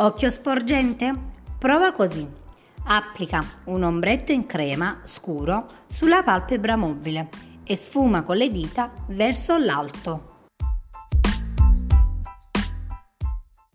Occhio sporgente? Prova così. Applica un ombretto in crema scuro sulla palpebra mobile e sfuma con le dita verso l'alto.